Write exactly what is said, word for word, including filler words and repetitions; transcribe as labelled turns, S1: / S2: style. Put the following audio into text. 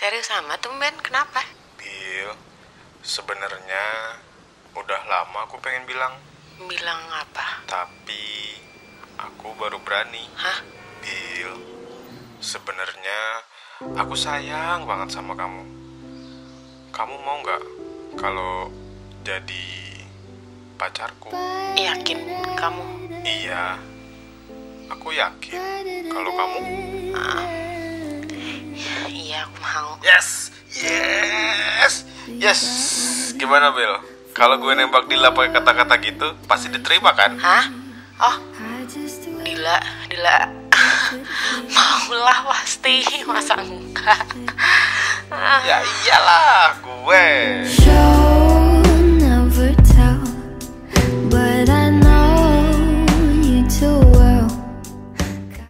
S1: Serius sama tumben, kenapa?
S2: Bil, sebenarnya udah lama aku pengen bilang.
S1: Bilang apa?
S2: Tapi aku baru berani.
S1: Hah?
S2: Bil, sebenarnya aku sayang banget sama kamu. Kamu mau gak kalau jadi pacarku?
S1: Yakin kamu?
S2: Iya, aku yakin kalau kamu.
S1: Ah, iya, aku mau.
S2: Yes, yes, yes. Gimana Bil? Kalau gue nembak Dila pakai kata-kata gitu, pasti diterima kan?
S1: Hah? Oh, Dila, Dila. Maulah pasti, masa enggak?
S2: Ya iyalah, gue.
S3: Show